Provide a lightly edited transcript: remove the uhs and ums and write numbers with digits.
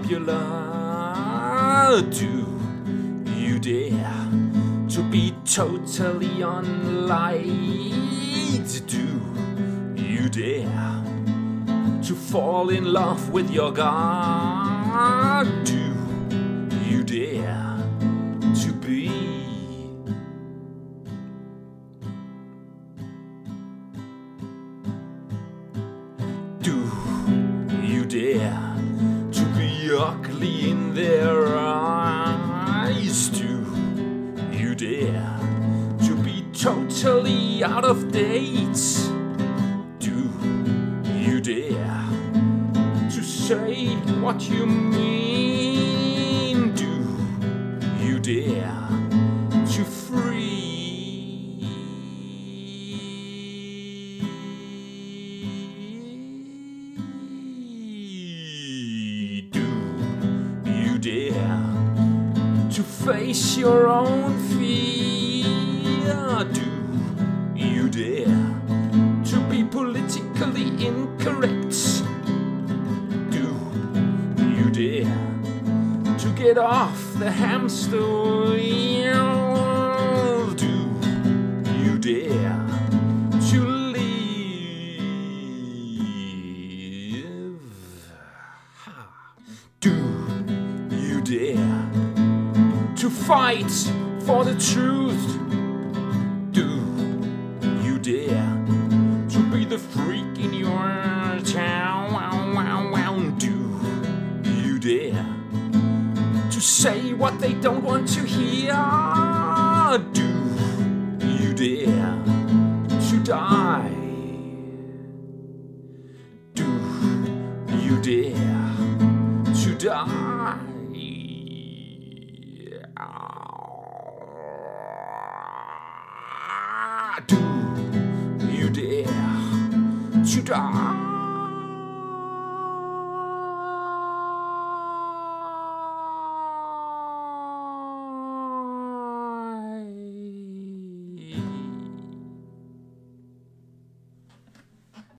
popular? Do you dare to be totally unliked? Do you dare to fall in love with your God? Do you dare to be? Do you dare to be ugly in their eyes? Do you dare to be totally out of date? Do you dare to say what you mean? Do you dare to free? Do you dare to face your own fear? Do you dare to be politically incorrect? Do you dare to get off the hamster wheel? Do you dare to live? Do you dare to fight for the truth? Do you dare to be the freak in your town? Do you dare to say what they don't want to hear? Do you dare to die? Do you dare to die? Do you dare to die?